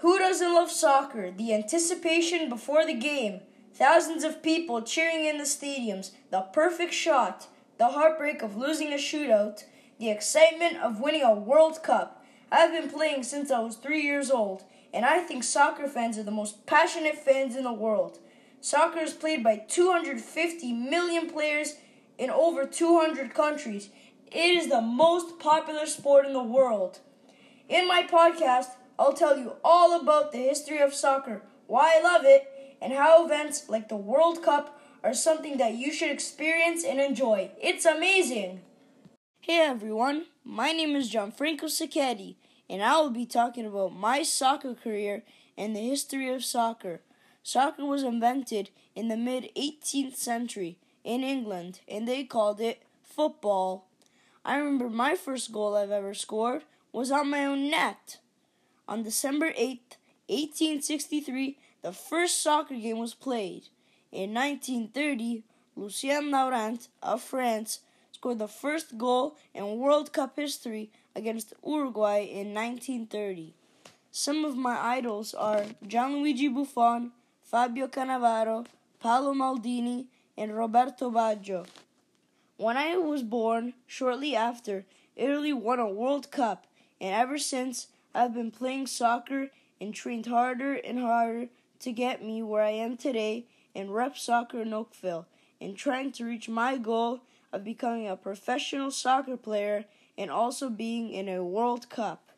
Who doesn't love soccer? The anticipation before the game, thousands of people cheering in the stadiums, the perfect shot, the heartbreak of losing a shootout, the excitement of winning a World Cup. I've been playing since I was 3 years old, and I think soccer fans are the most passionate fans in the world. Soccer is played by 250 million players in over 200 countries. It is the most popular sport in the world. In my podcast, I'll tell you all about the history of soccer, why I love it, and how events like the World Cup are something that you should experience and enjoy. It's amazing! Hey everyone, my name is Gianfranco Sacchetti, and I will be talking about my soccer career and the history of soccer. Soccer was invented in the mid-18th century in England, and they called it football. I remember my first goal I've ever scored was on my own net. On December 8th, 1863, the first soccer game was played. In 1930, Lucien Laurent of France scored the first goal in World Cup history against Uruguay in 1930. Some of my idols are Gianluigi Buffon, Fabio Cannavaro, Paolo Maldini, and Roberto Baggio. When I was born, shortly after, Italy won a World Cup, and ever since, I've been playing soccer and trained harder and harder to get me where I am today in rep soccer in Oakville, and trying to reach my goal of becoming a professional soccer player and also being in a World Cup.